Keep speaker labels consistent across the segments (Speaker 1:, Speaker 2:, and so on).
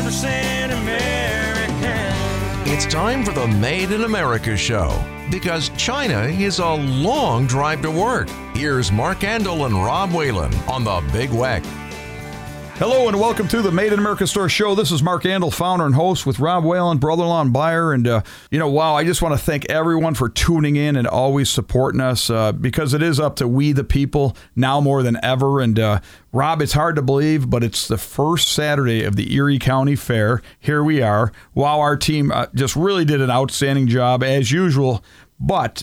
Speaker 1: 100% American.
Speaker 2: It's time for the Made in America show, because China is a long drive to work. Here's Mark Andel and Rob Whalen on the Big Weck.
Speaker 3: Hello and welcome to the Made in America Store show. This is Mark Andel, founder and host with Rob Whalen, brother-in-law and buyer. And, wow, I just want to thank everyone for tuning in and always supporting us because it is up to we the people now more than ever. And, Rob, it's hard to believe, but it's the first Saturday of the Erie County Fair. Here we are. Wow, our team just really did an outstanding job as usual. But,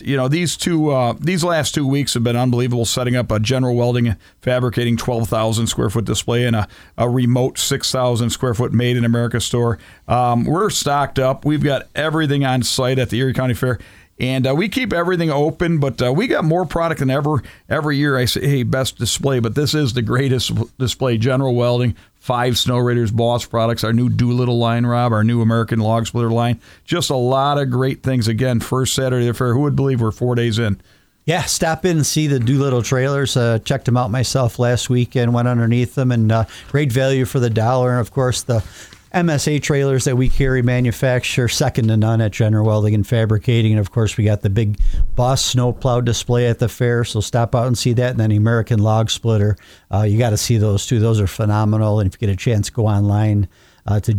Speaker 3: these last 2 weeks have been unbelievable, setting up a General Welding fabricating 12,000 square foot display and a remote 6,000 square foot Made in America store. We're stocked up. We've got everything on site at the Erie County Fair. And we keep everything open, but we got more product than ever. Every year I say, hey, best display, but this is the greatest display. General Welding, 5 Snow Raiders Boss products, our new Doolittle line, Rob, our new American Log Splitter line. Just a lot of great things. Again, first Saturday of the fair. Who would believe we're 4 days in?
Speaker 4: Yeah, stop in and see the Doolittle trailers. Checked them out myself last weekend, went underneath them, and great value for the dollar. And, of course, the MSA trailers that we carry manufacture second to none at General Welding and Fabricating. And, of course, we got the big Boss snowplow display at the fair, so stop out and see that. And then American Log Splitter. You got to see those, too. Those are phenomenal. And if you get a chance, go online to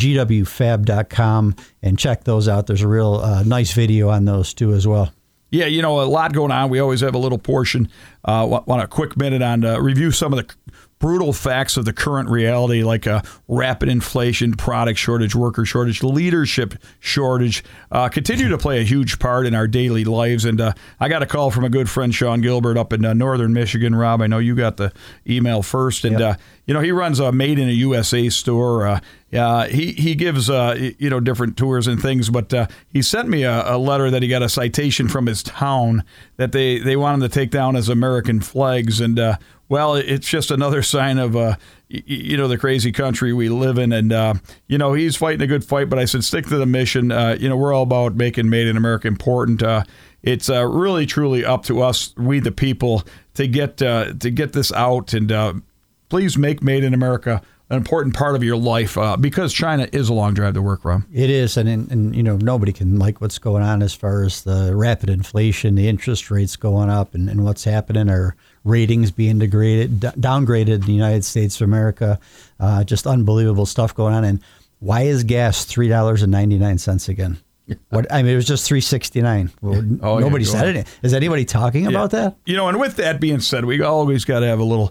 Speaker 4: gwfab.com and check those out. There's a real nice video on those, too, as well.
Speaker 3: Yeah, a lot going on. We always have a little portion. Want a quick minute on review some of the brutal facts of the current reality, like rapid inflation, product shortage, worker shortage, leadership shortage, continue to play a huge part in our daily lives. And I got a call from a good friend, Sean Gilbert, up in northern Michigan. Rob, I know you got the email first. And,
Speaker 4: yep.
Speaker 3: He runs a Made in a USA store. He gives, different tours and things. But he sent me a letter that he got a citation from his town that they want him to take down as American flags. And, well, it's just another sign of, the crazy country we live in. And, he's fighting a good fight. But I said, stick to the mission. We're all about making Made in America important. It's really, truly up to us, we the people, to get this out. And please make Made in America an important part of your life because China is a long drive to work, Rob.
Speaker 4: It is, and nobody can like what's going on as far as the rapid inflation, the interest rates going up, and what's happening. Our ratings being downgraded in the United States of America. Just unbelievable stuff going on. And why is gas $3.99 again? It was just $3.69. Well, nobody said it. Is anybody talking about that?
Speaker 3: And with that being said, we always got to have a little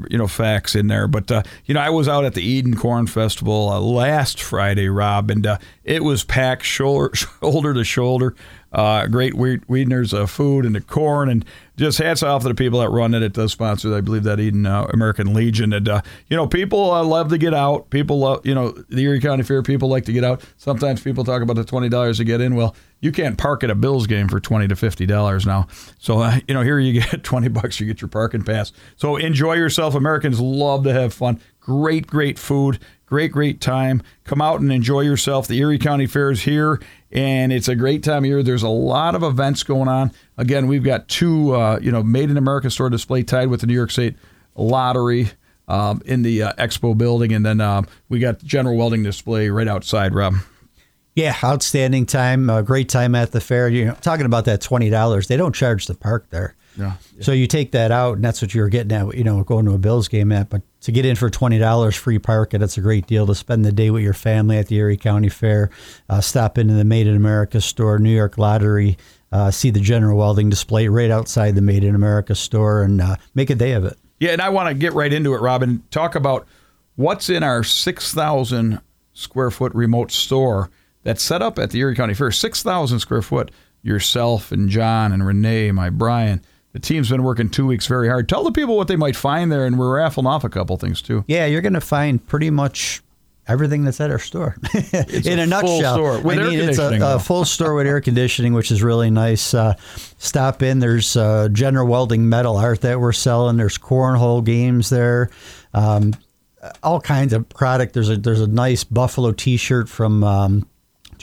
Speaker 3: facts in there. But, I was out at the Eden Corn Festival last Friday, Rob, and it was packed shoulder to shoulder. Great Wiedner's food and the corn, and just hats off to the people that run it. It does sponsor, I believe, that Eden American Legion. And, people love to get out. People love, the Erie County Fair, people like to get out. Sometimes people talk about the $20 to get in. Well, you can't park at a Bills game for $20 to $50 now. So, here you get $20, you get your parking pass. So enjoy yourself. Americans love to have fun. Great food. Great time. Come out and enjoy yourself. The Erie County Fair is here, and it's a great time of year. There's a lot of events going on. Again, we've got 2, Made in America store display tied with the New York State Lottery in the Expo building, and then we got General Welding display right outside, Rob.
Speaker 4: Yeah, outstanding time. Great time at the fair. Talking about that $20, they don't charge the park there.
Speaker 3: Yeah.
Speaker 4: So you take that out, and that's what you're getting at, going to a Bills game at. But to get in for $20 free parking, it's a great deal to spend the day with your family at the Erie County Fair. Stop into the Made in America store, New York Lottery, see the General Welding display right outside the Made in America store, and make a day of it.
Speaker 3: Yeah, and I want to get right into it, Robin. Talk about what's in our 6,000 square foot remote store that's set up at the Erie County Fair. 6,000 square foot. Yourself and John and Renee, my Brian. The team's been working 2 weeks very hard. Tell the people what they might find there, and we're raffling off a couple things, too.
Speaker 4: Yeah, you're going to find pretty much everything that's at our store. In a nutshell.
Speaker 3: Full store with air conditioning.
Speaker 4: It's a full store with air conditioning, which is really nice. Stop in. There's General Welding metal art that we're selling. There's cornhole games there. All kinds of product. There's a nice Buffalo T-shirt from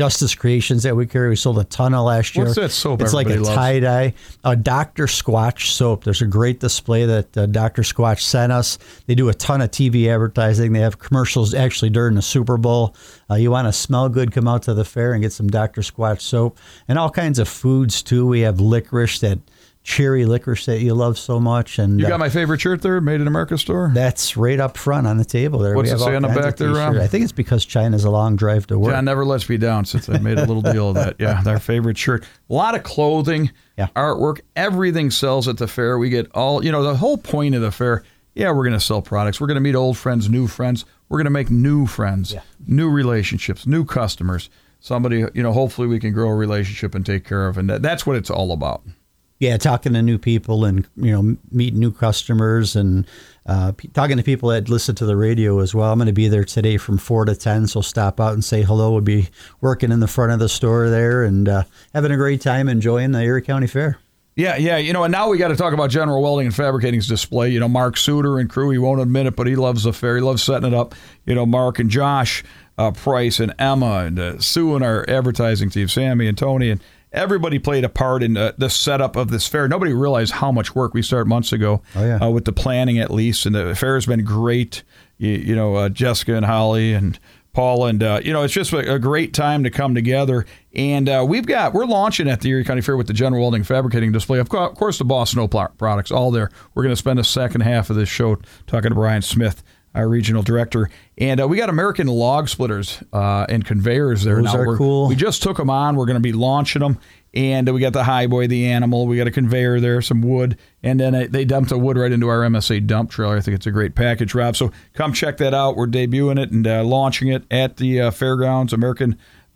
Speaker 4: Justice Creations that we carry. We sold a ton of last year.
Speaker 3: What's that soap
Speaker 4: It's like a
Speaker 3: everybody loves?
Speaker 4: tie-dye. Dr. Squatch soap. There's a great display that Dr. Squatch sent us. They do a ton of TV advertising. They have commercials actually during the Super Bowl. You want to smell good, come out to the fair and get some Dr. Squatch soap. And all kinds of foods, too. We have licorice, that cherry licorice that you love so much. And
Speaker 3: You got my favorite shirt there, Made in America store?
Speaker 4: that's right up front on the table there.
Speaker 3: What's
Speaker 4: We
Speaker 3: it
Speaker 4: have
Speaker 3: say
Speaker 4: all
Speaker 3: on the
Speaker 4: kinds
Speaker 3: back
Speaker 4: of
Speaker 3: there, Rob?
Speaker 4: t-shirts. I think it's because China's a long drive to work.
Speaker 3: John never lets me down since I made a little deal of that. Yeah, our favorite shirt. A lot of clothing,
Speaker 4: Yeah.
Speaker 3: artwork, everything sells at the fair. We get all, the whole point of the fair, we're going to sell products. We're going to meet old friends, new friends. We're going to make new friends, new relationships, new customers. Somebody, hopefully we can grow a relationship and take care of. And that's what it's all about.
Speaker 4: Yeah, talking to new people and, meeting new customers and talking to people that listen to the radio as well. I'm going to be there today from 4 to 10, so stop out and say hello. We'll be working in the front of the store there and having a great time enjoying the Erie County Fair.
Speaker 3: Yeah, and now we got to talk about General Welding and Fabricating's display. Mark Suter and crew, he won't admit it, but he loves the fair. He loves setting it up. Mark and Josh Price and Emma and Sue and our advertising team, Sammy and Tony, and everybody played a part in the setup of this fair. Nobody realized how much work we started months ago with the planning, at least, and the fair has been great. Jessica and Holly and Paul, and it's just a great time to come together. And we're launching at the Erie County Fair with the General Welding Fabricating display. Of course, the Boss Snow products, all there. We're going to spend the second half of this show talking to Brian Smith, our regional director. And we got American log splitters and conveyors there.
Speaker 4: Those are cool.
Speaker 3: We just took them on. We're going to be launching them. And we got the Highboy, the Animal. We got a conveyor there, some wood. And then they dumped the wood right into our MSA dump trailer. I think it's a great package, Rob. So come check that out. We're debuting it and launching it at the fairgrounds, American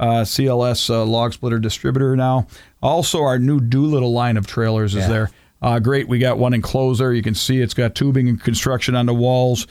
Speaker 3: CLS log splitter distributor now. Also, our new Doolittle line of trailers is there. Great. We got one enclosed there. You can see it's got tubing and construction on the walls.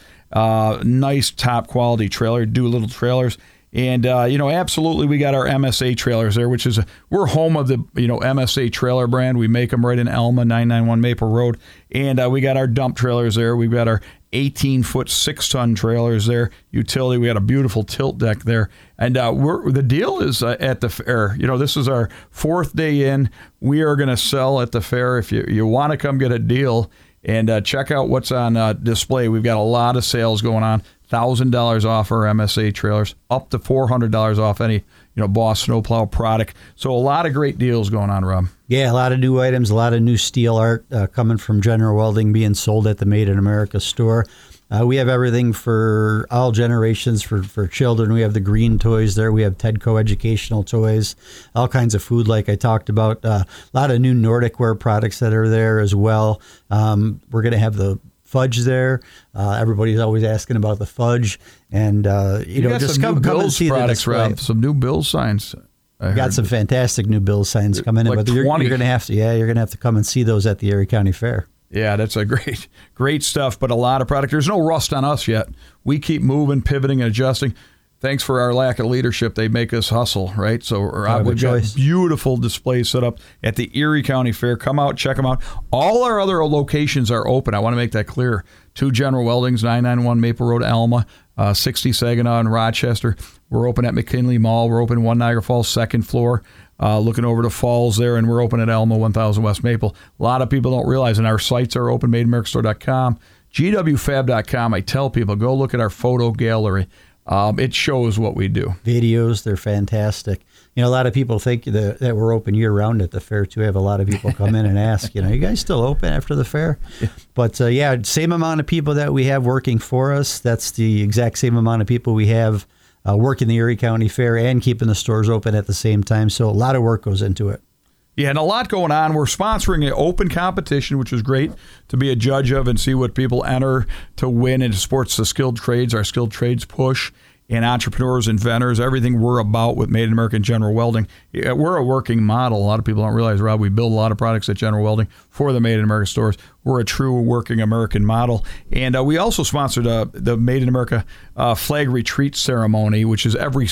Speaker 3: Nice top quality trailer, Doolittle trailers. And, absolutely, we got our MSA trailers there, which is, we're home of the, MSA trailer brand. We make them right in Elma, 991 Maple Road. And we got our dump trailers there. We've got our 18-foot, 6-ton trailers there. Utility, we got a beautiful tilt deck there. And the deal is at the fair. This is our 4th day in. We are going to sell at the fair. If you want to come get a deal and check out what's on display, we've got a lot of sales going on. $1,000 off our MSA trailers, up to $400 off any Boss snowplow product. So a lot of great deals going on, Rob.
Speaker 4: Yeah, a lot of new items, a lot of new steel art coming from General Welding being sold at the Made in America store. We have everything for all generations for children. We have the green toys there. We have Tedco educational toys, all kinds of food like I talked about. A lot of new Nordic wear products that are there as well. We're going to have the fudge there. Everybody's always asking about the fudge, and just come and see the display.
Speaker 3: Rob, some new Bills signs.
Speaker 4: Got some fantastic new Bills signs coming in, but you're going to have to come and see those at the Erie County Fair.
Speaker 3: Yeah, that's a great stuff, but a lot of product. There's no rust on us yet. We keep moving, pivoting, and adjusting. Thanks for our lack of leadership. They make us hustle, right? So we've got beautiful displays set up at the Erie County Fair. Come out, check them out. All our other locations are open. I want to make that clear. 2 General Weldings, 991 Maple Road, Alma, 60 Saginaw and Rochester. We're open at McKinley Mall. We're open 1 Niagara Falls, 2nd floor, looking over the falls there, and we're open at Alma, 1000 West Maple. A lot of people don't realize, and our sites are open, MadeInAmericaStore.com, GWFab.com. I tell people, go look at our photo gallery. It shows what we do.
Speaker 4: Videos, they're fantastic. A lot of people think that we're open year-round at the fair, too. I have a lot of people come in and ask, you guys still open after the fair? Yeah. But, same amount of people that we have working for us. That's the exact same amount of people we have working the Erie County Fair and keeping the stores open at the same time. So a lot of work goes into it.
Speaker 3: Yeah, and a lot going on. We're sponsoring an open competition, which is great to be a judge of and see what people enter to win. And it supports the skilled trades, our skilled trades push, and entrepreneurs, inventors, everything we're about with Made in America and General Welding. We're a working model. A lot of people don't realize, Rob, we build a lot of products at General Welding for the Made in America stores. We're a true working American model. And we also sponsored the Made in America flag retreat ceremony, which is every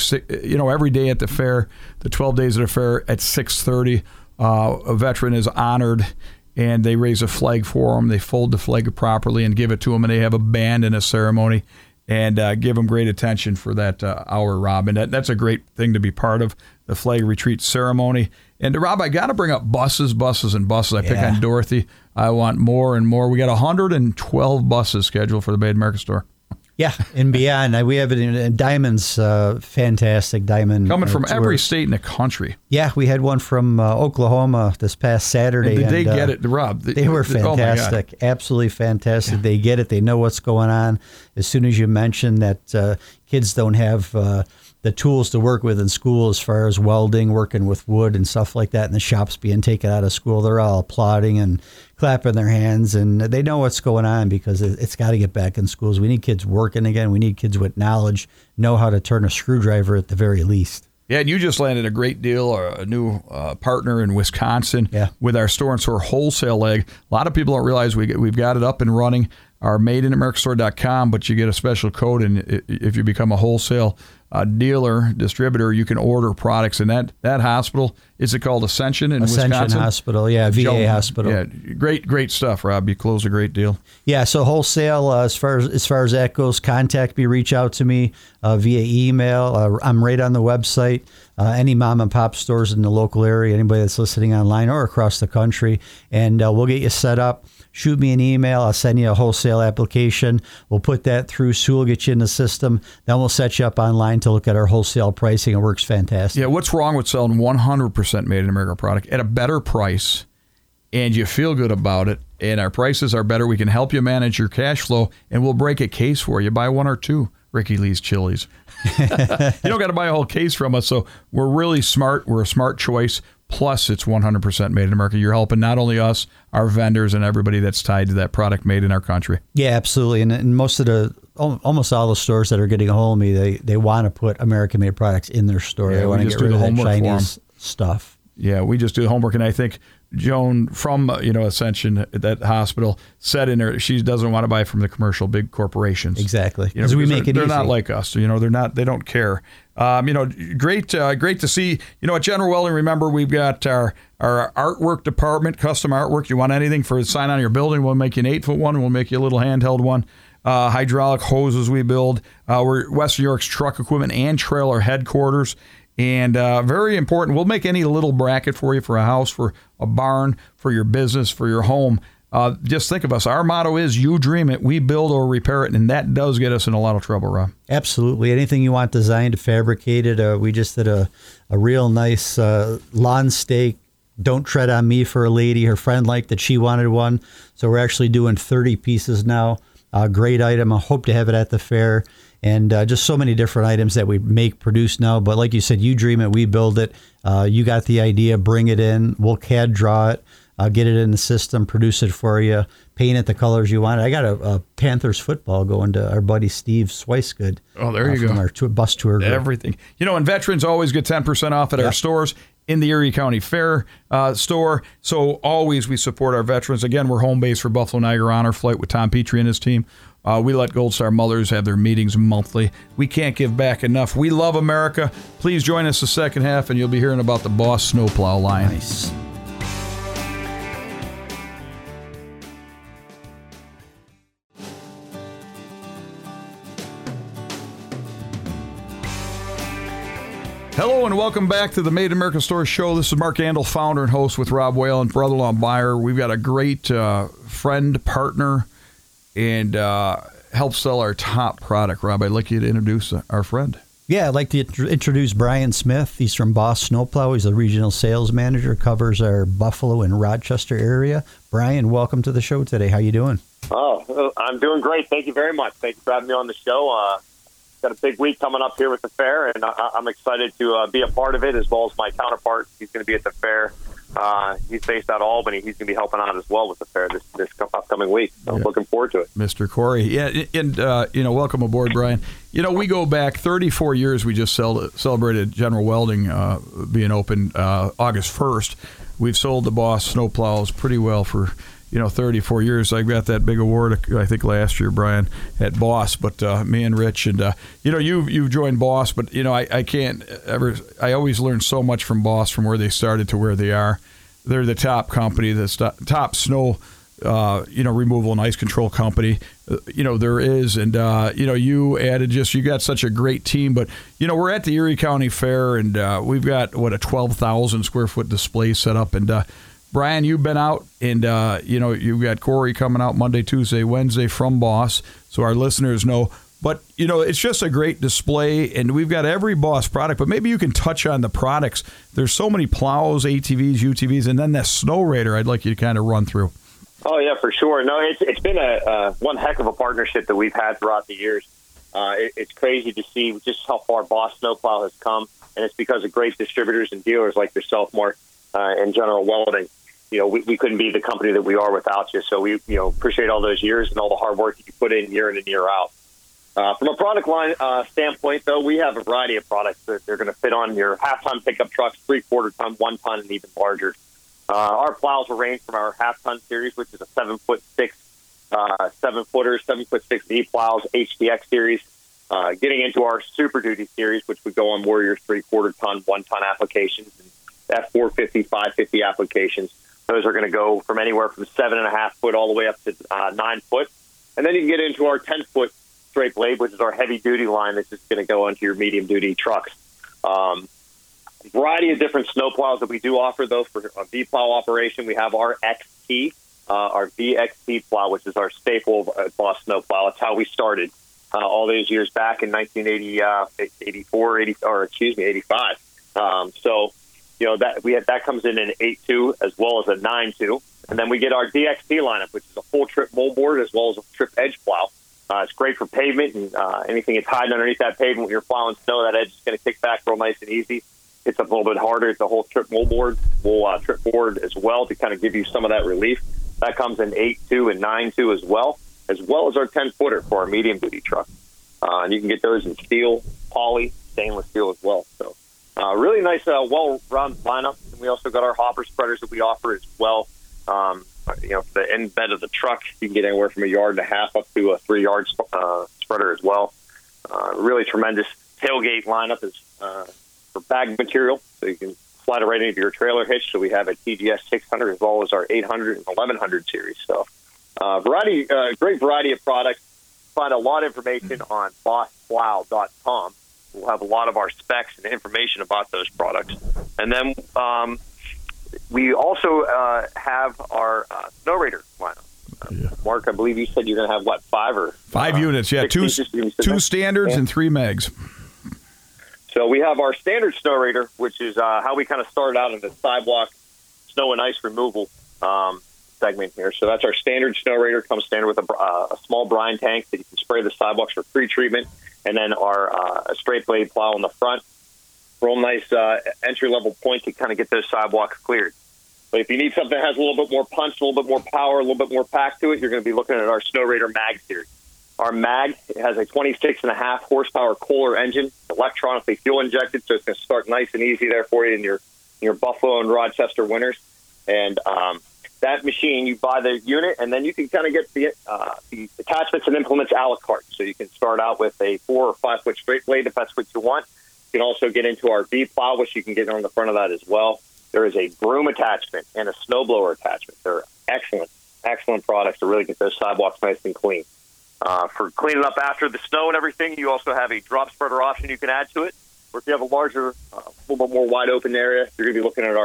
Speaker 3: day at the fair, the 12 days of the fair at 6:30. A veteran is honored, and they raise a flag for him. They fold the flag properly and give it to him, and they have a band and a ceremony. and give them great attention for that hour, Rob. And that's a great thing to be part of, the flag retreat ceremony. And Rob, I got to bring up buses. I pick on Dorothy. I want more and more. We got 112 buses scheduled for the Made in America store.
Speaker 4: Yeah, and beyond. We have it in Diamond's fantastic Diamond.
Speaker 3: Coming from every state in the country.
Speaker 4: Yeah, we had one from Oklahoma this past Saturday.
Speaker 3: And did they get it, Rob?
Speaker 4: They were fantastic. Absolutely fantastic. Yeah. They get it. They know what's going on. As soon as you mention that kids don't have the tools to work with in school as far as welding, working with wood and stuff like that, and the shops being taken out of school, they're all applauding and clapping their hands, and they know what's going on because it's got to get back in schools. We need kids working again. We need kids with knowledge, know how to turn a screwdriver at the very least.
Speaker 3: Yeah, and you just landed a great deal, a new partner in Wisconsin with our store-and-store wholesale leg. A lot of people don't realize we've got it up and running, our madeinamericastore.com, but you get a special code, and if you become a wholesale dealer, distributor, you can order products in that hospital. Is it called Ascension in Wisconsin?
Speaker 4: Ascension Hospital, VA hospital.
Speaker 3: Yeah, great stuff, Rob. You closed a great deal.
Speaker 4: Yeah, so wholesale, as far as that goes, contact me, reach out to me via email. I'm right on the website. Any mom and pop stores in the local area, anybody that's listening online or across the country, and we'll get you set up. Shoot me an email. I'll send you a wholesale application. We'll put that through. Sue will get you in the system. Then we'll set you up online to look at our wholesale pricing. It works fantastic.
Speaker 3: Yeah, what's wrong with selling 100% Made in America product at a better price, and you feel good about it, and our prices are better? We can help you manage your cash flow, and we'll break a case for you. Buy one or two Ricky Lee's chilies. You don't got to buy a whole case from us. So we're really smart. We're a smart choice. Plus, it's 100% Made in America. You're helping not only us, our vendors, and everybody that's tied to that product made in our country.
Speaker 4: Yeah, absolutely. And almost all the stores that are getting a hold of me, they want to put American-made products in their store.
Speaker 3: Yeah,
Speaker 4: they want to get rid of that Chinese stuff.
Speaker 3: Yeah, we just do the homework, and I think Joan from Ascension at that hospiel said in her she doesn't want to buy from the commercial big corporations.
Speaker 4: Exactly, because we make it easy.
Speaker 3: They're not like us. They're not. They don't care. Great to see. At General Welding, remember we've got our artwork department, custom artwork. You want anything for a sign on your building? We'll make you an 8-foot one. We'll make you a little handheld one. Hydraulic hoses we build. We're Western New York's truck equipment and trailer headquarters. And very important, we'll make any little bracket for you for a house, for a barn, for your business, for your home. Just think of us. Our motto is, you dream it, we build or repair it. And that does get us in a lot of trouble, Rob.
Speaker 4: Absolutely. Anything you want designed, fabricated. We just did a real nice lawn stake. Don't tread on me for a lady. Her friend liked that, she wanted one. So we're actually doing 30 pieces now. Great item. I hope to have it at the fair. And just so many different items that we produce now. But like you said, you dream it, we build it. You got the idea, bring it in. We'll CAD draw it, get it in the system, produce it for you, paint it the colors you want. I got a Panthers football going to our buddy Steve Swicegood.
Speaker 3: Oh, there you go.
Speaker 4: From our bus tour group.
Speaker 3: Everything. And veterans always get 10% off at our stores. In the Erie County Fair store. So always we support our veterans. Again, we're home base for Buffalo Niagara Honor Flight with Tom Petrie and his team. We let Gold Star mothers have their meetings monthly. We can't give back enough. We love America. Please join us the second half, and you'll be hearing about the Boss Snowplow line.
Speaker 4: Nice.
Speaker 3: Hello and welcome back to the Made in America Store Show. This is Mark Andel, founder and host with Rob Whalen, brother-in-law buyer. We've got a great friend, partner, and help sell our top product. Rob, I'd like you to introduce our friend.
Speaker 4: Yeah, I'd like to introduce Brian Smith. He's from Boss Snowplow. He's the regional sales manager, covers our Buffalo and Rochester area. Brian, welcome to the show today. How you doing?
Speaker 5: Oh, I'm doing great. Thank you very much. Thank you for having me on the show. Got a big week coming up here with the fair, and I'm excited to be a part of it, as well as my counterpart. He's going to be at the fair. He's based out of Albany. He's going to be helping out as well with the fair this upcoming week. So I'm looking forward to it.
Speaker 3: Mr. Corey. Yeah, and welcome aboard, Brian. We go back 34 years. We just celebrated General Welding being open August 1st. We've sold the Boss snowplows pretty well for 34 years. I got that big award, I think, last year, Brian, at Boss. But me and Rich, and you've joined Boss, but I can't ever. I always learn so much from Boss, from where they started to where they are. They're the top company, the top snow removal and ice control company. There is, and you added you got such a great team. But we're at the Erie County Fair, and we've got a 12,000 square foot display set up. And Brian, you've been out, and you've got Corey coming out Monday, Tuesday, Wednesday from Boss, so our listeners know. But, it's just a great display, and we've got every Boss product. But maybe you can touch on the products. There's so many plows, ATVs, UTVs, and then that Snow Raider I'd like you to kind of run through.
Speaker 5: Oh, yeah, for sure. No, it's been one heck of a partnership that we've had throughout the years. It's crazy to see just how far Boss Snowplow has come, and it's because of great distributors and dealers like yourself, Mark, and General Welding. We couldn't be the company that we are without you. So we appreciate all those years and all the hard work that you put in year and out. From a product line standpoint, though, we have a variety of products that they're going to fit on your half-ton pickup trucks, 3/4 ton, 1 ton, and even larger. Our plows will range from our half-ton series, which is a 7'6", 7-footer, 7'6" V plows, HDX series, getting into our Super Duty series, which would go on Warrior's 3/4 ton, 1 ton applications, and F450, 550 applications. Those are going to go from anywhere from 7.5 foot all the way up to 9 foot. And then you can get into our 10-foot straight blade, which is our heavy-duty line that's just going to go onto your medium-duty trucks. Variety of different snowplows that we do offer, though, for a V-plow operation. We have our XT, our VXT plow, which is our staple Boss snowplow. It's how we started all those years back in 1985. That comes in an 8.2 as well as a 9.2. And then we get our DXT lineup, which is a full trip moldboard as well as a trip edge plow. It's great for pavement and anything that's hiding underneath that pavement when you're plowing snow. That edge is going to kick back real nice and easy. It's a little bit harder. It's a whole trip moldboard, full trip board as well to kind of give you some of that relief. That comes in 8.2 and 9.2 as well as our 10-footer for our medium-duty truck. And you can get those in steel, poly, stainless steel as well. So really nice, well-rounded lineup. And we also got our hopper spreaders that we offer as well. For the end bed of the truck, you can get anywhere from 1.5 yards up to a 3-yard spreader as well. Really tremendous tailgate lineup is for bag material, so you can slide it right into your trailer hitch. So we have a TGS 600 as well as our 800 and 1100 series. So great variety of products. Find a lot of information on bossplow.com. We'll have a lot of our specs and information about those products. And then we also have our Snow Raider lineup. Mark, I believe you said you're going to have, 5
Speaker 3: units? Yeah, two standards and 3 megs.
Speaker 5: So we have our standard Snow Raider, which is how we kind of started out in the sidewalk snow and ice removal segment here. So that's our standard Snow Raider. Comes standard with a small brine tank that you can spray the sidewalks for pre-treatment, and then our straight blade plow on the front. Real nice entry-level point to kind of get those sidewalks cleared. But if you need something that has a little bit more punch, a little bit more power, a little bit more pack to it, you're going to be looking at our Snow Raider Mag series. Our Mag has a 26.5 horsepower Kohler engine, electronically fuel injected, so it's going to start nice and easy there for you in your Buffalo and Rochester winters. And that machine, you buy the unit, and then you can kind of get the attachments and implements a la carte. So you can start out with a 4 or 5 foot straight blade if that's what you want. You can also get into our V plow, which you can get on the front of that as well. There is a broom attachment and a snowblower attachment. They're excellent products to really get those sidewalks nice and clean. For cleaning up after the snow and everything, you also have a drop spreader option you can add to it. Or if you have a larger, a little bit more wide open area, you're going to be looking at our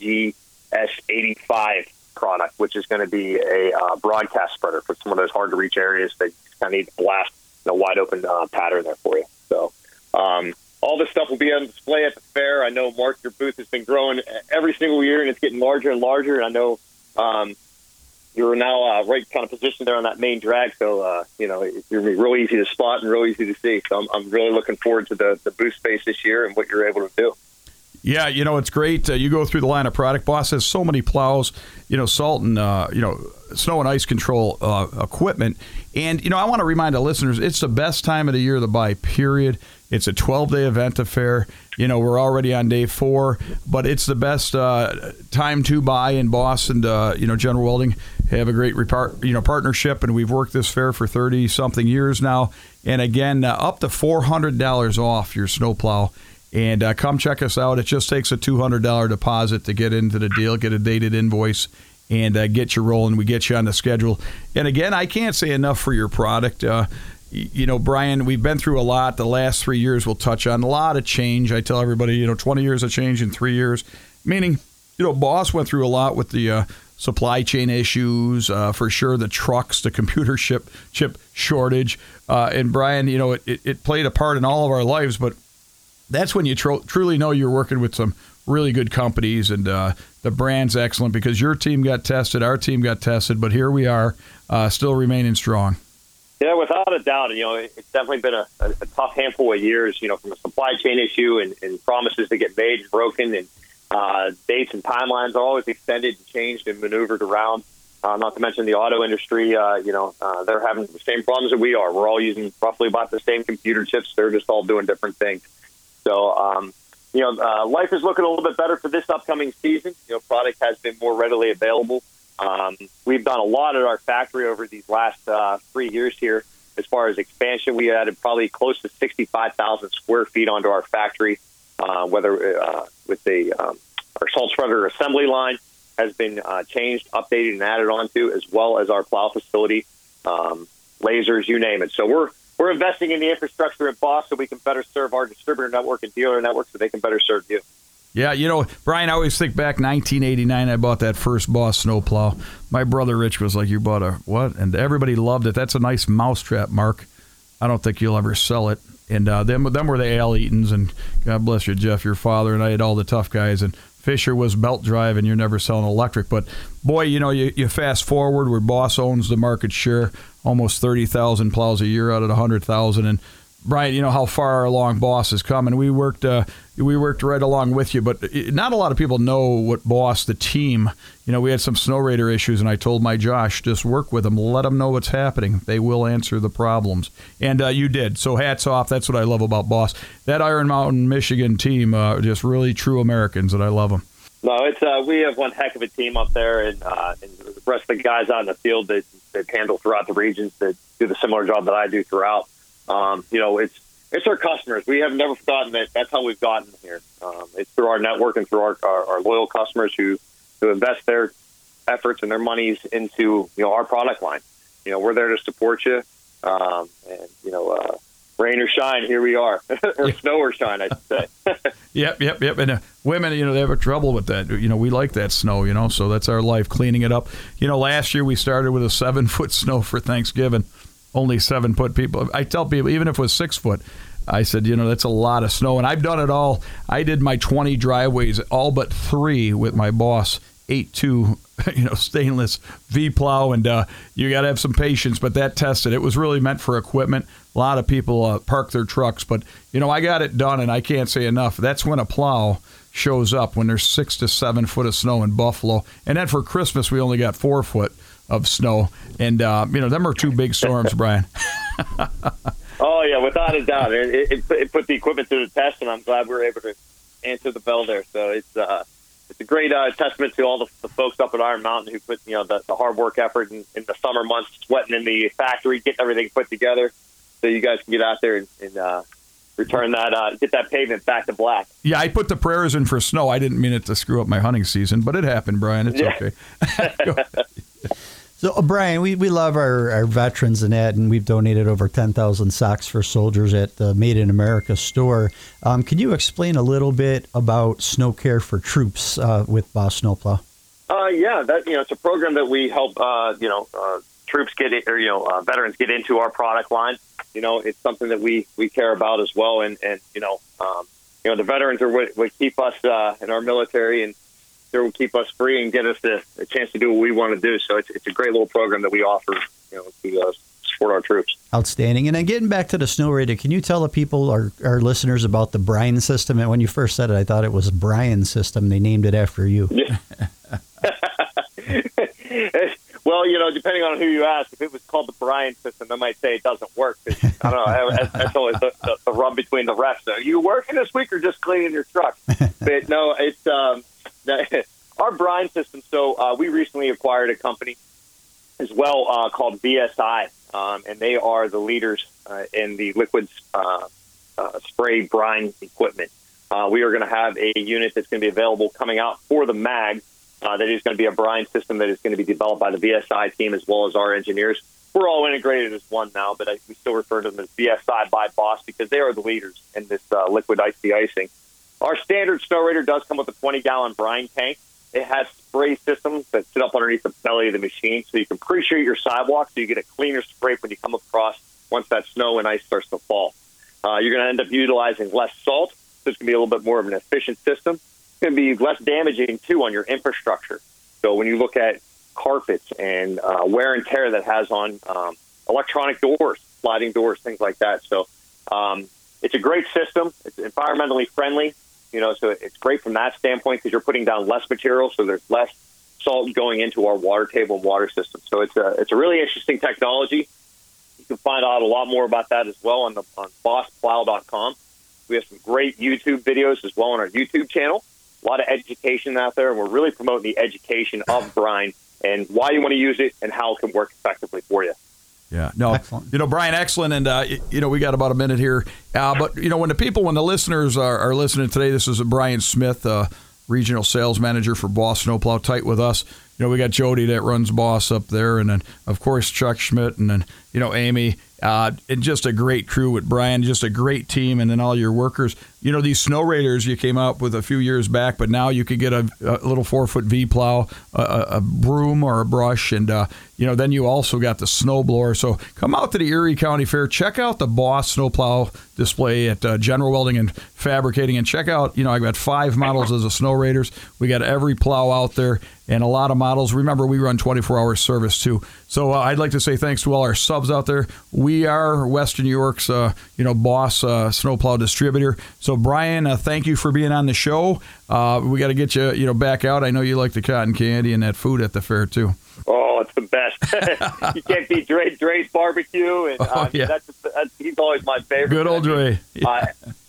Speaker 5: TGS85 product, which is going to be a broadcast spreader for some of those hard to reach areas that you kind of need to blast in a wide open pattern there for you. So all this stuff will be on display at the fair. I know, Mark, your booth has been growing every single year, and it's getting larger and larger. And I know you're now right kind of positioned there on that main drag, so it's going to be real easy to spot and real easy to see. So I'm really looking forward to the booth space this year and what you're able to do.
Speaker 3: Yeah, it's great. You go through the line of product. Boss has so many plows, salt and, snow and ice control equipment. And, I want to remind the listeners, it's the best time of the year to buy, period. It's a 12-day event at fair. We're already on day 4, but it's the best time to buy. And Boss and, General Welding have a great partnership, and we've worked this fair for 30-something years now. And, again, up to $400 off your snowplow. And come check us out. It just takes a $200 deposit to get into the deal, get a dated invoice, and get you rolling. We get you on the schedule. And again, I can't say enough for your product. Brian, we've been through a lot. The last 3 years we'll touch on a lot of change. I tell everybody, 20 years of change in 3 years, meaning, Boss went through a lot with the supply chain issues, for sure, the trucks, the computer chip shortage. And Brian, it played a part in all of our lives, but that's when you truly know you're working with some really good companies, and the brand's excellent because your team got tested, our team got tested, but here we are, still remaining strong.
Speaker 5: Yeah, without a doubt. It's definitely been a tough handful of years, from a supply chain issue and promises that get made and broken, and dates and timelines are always extended and changed and maneuvered around. Not to mention the auto industry, they're having the same problems that we are. We're all using roughly about the same computer chips. They're just all doing different things. So, life is looking a little bit better for this upcoming season. Product has been more readily available. We've done a lot at our factory over these last 3 years here. As far as expansion, we added probably close to 65,000 square feet onto our factory, whether with our salt spreader assembly line has been changed, updated, and added onto, as well as our plow facility, lasers, you name it. So we're investing in the infrastructure at Boss so we can better serve our distributor network and dealer network so they can better serve you.
Speaker 3: Yeah, Brian, I always think back 1989, I bought that first Boss snowplow. My brother Rich was like, you bought a what? And everybody loved it. That's a nice mousetrap, Mark. I don't think you'll ever sell it. And them were the Al Eatons, and God bless you, Jeff, your father, and I had all the tough guys. And Fisher was belt drive, and you're never selling electric. But, boy, you fast forward where Boss owns the market share, almost 30,000 plows a year out of 100,000. And, Brian, how far along Boss has come, and we worked right along with you. But not a lot of people know what Boss, the team, we had some Snow Raider issues, and I told my Josh, just work with them, let them know what's happening. They will answer the problems, and you did. So hats off. That's what I love about Boss. That Iron Mountain, Michigan team, just really true Americans, and I love them.
Speaker 5: No, it's we have one heck of a team up there, and the rest of the guys out in the field that handle throughout the regions that do the similar job that I do throughout. It's our customers. We have never forgotten that. That's how we've gotten here. It's through our network and through our loyal customers who invest their efforts and their monies into our product line. We're there to support you, and rain or shine, here we are, or snow or shine, I should say.
Speaker 3: Yep. And women, they have trouble with that. We like that snow, so that's our life, cleaning it up. Last year we started with a 7-foot snow for Thanksgiving. Only 7-foot people. I tell people, even if it was 6 foot, I said, that's a lot of snow. And I've done it all. I did my 20 driveways, all but 3 with my Boss 8.2, stainless V-plow. And you got to have some patience, but that tested. It was really meant for equipment. A lot of people park their trucks. But, I got it done, and I can't say enough. That's when a plow shows up, when there's 6 to 7 foot of snow in Buffalo. And then for Christmas, we only got 4 foot of snow, and them are 2 big storms, Brian.
Speaker 5: Oh yeah, without a doubt, it put the equipment to the test, and I'm glad we were able to answer the bell there. So it's a great testament to all the folks up at Iron Mountain who put the hard work effort in the summer months, sweating in the factory, getting everything put together, so you guys can get out there and return that, get that pavement back to black.
Speaker 3: Yeah, I put the prayers in for snow. I didn't mean it to screw up my hunting season, but it happened, Brian. It's okay.
Speaker 4: So, Brian, we love our veterans and that, and we've donated over 10,000 socks for soldiers at the Made in America store. Can you explain a little bit about Snow Care for Troops with Boss Snowplow?
Speaker 5: Yeah, it's a program that we help troops get it, or veterans get into our product line. It's something that we care about as well, and the veterans are what keep us in our military, and they will keep us free and get us a chance to do what we want to do. So it's a great little program that we offer, to support our troops.
Speaker 4: Outstanding. And then getting back to the Snow Raider, can you tell the people, our listeners, about the Bryan system? And when you first said it, I thought it was Bryan system. They named it after you.
Speaker 5: Yeah. Well, depending on who you ask, if it was called the Bryan system, they might say it doesn't work. I don't know. That's always the rub between the refs. Are you working this week or just cleaning your truck? But no, it's our brine system. So we recently acquired a company as well called VSI, and they are the leaders in the liquid spray brine equipment. We are going to have a unit that's going to be available coming out for the MAG That is going to be a brine system that is going to be developed by the VSI team as well as our engineers. We're all integrated as one now, but we still refer to them as VSI by Boss because they are the leaders in this liquid ice de-icing. Our standard Snowrator does come with a 20-gallon brine tank. It has spray systems that sit up underneath the belly of the machine, so you can pre-treat your sidewalk so you get a cleaner scrape when you come across once that snow and ice starts to fall. You're going to end up utilizing less salt, so it's going to be a little bit more of an efficient system. It's going to be less damaging, too, on your infrastructure. So when you look at carpets and wear and tear that has on electronic doors, sliding doors, things like that. So it's a great system. It's environmentally friendly. So it's great from that standpoint because you're putting down less material, so there's less salt going into our water table and water system. So it's a really interesting technology. You can find out a lot more about that as well on BossPlow.com. We have some great YouTube videos as well on our YouTube channel. A lot of education out there, and we're really promoting the education of brine and why you want to use it and how it can work effectively for you.
Speaker 3: Yeah, no,
Speaker 4: excellent.
Speaker 3: Brian, excellent. And, we got about a minute here. But, when the listeners are listening today, this is Brian Smith, regional sales manager for Boss Snowplow, tight with us. We got Jody that runs Boss up there. And then, of course, Chuck Schmidt and then, Amy. And just a great crew with Brian, just a great team. And then all your workers. These Snowraiders you came out with a few years back, but now you could get a little 4-foot V-plow, a broom or a brush, and, then you also got the snowblower. So come out to the Erie County Fair. Check out the Boss Snowplow display at General Welding and Fabricating. And check out, I've got 5 models as a Snowraiders. We got every plow out there and a lot of models. Remember, we run 24-hour service, too. So I'd like to say thanks to all our subs out there. We are Western New York's, Boss Snowplow distributor. So, Brian, thank you for being on the show. We got to get you, back out. I know you like the cotton candy and that food at the fair, too.
Speaker 5: Oh, it's the best. You can't beat Dre's barbecue. And he's always my favorite.
Speaker 3: Good old Dre.
Speaker 5: Yeah.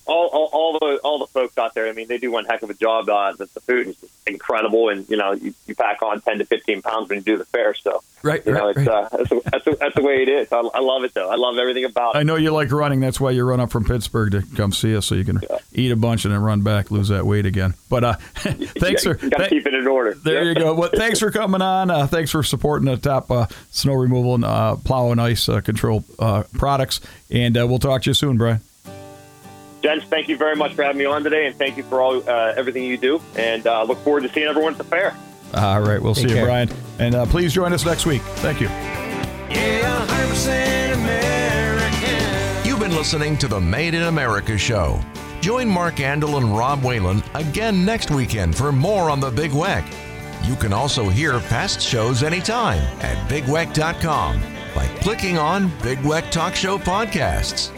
Speaker 5: All the folks out there, they do one heck of a job. The food is incredible, and you pack on 10 to 15 pounds when you do the fair. So
Speaker 3: right.
Speaker 5: That's the way it is. I love it though. I love everything about it.
Speaker 3: I know you like running. That's why you run up from Pittsburgh to come see us, so you can eat a bunch and then run back, lose that weight again. But thanks for
Speaker 5: gotta keep it in order.
Speaker 3: There you go. Well, thanks for coming on. Thanks for supporting the top snow removal and plow and ice control products. And we'll talk to you soon, Brian.
Speaker 5: Gents, thank you very much for having me on today, and thank you for all everything you do. And look forward to seeing everyone at the fair.
Speaker 3: All right, we'll see you, Brian. And please join us next week. Thank you.
Speaker 1: Yeah, 100% American.
Speaker 2: You've been listening to the Made in America show. Join Mark Andel and Rob Whalen again next weekend for more on the Big Weck. You can also hear past shows anytime at BigWeck.com by clicking on Big Weck Talk Show Podcasts.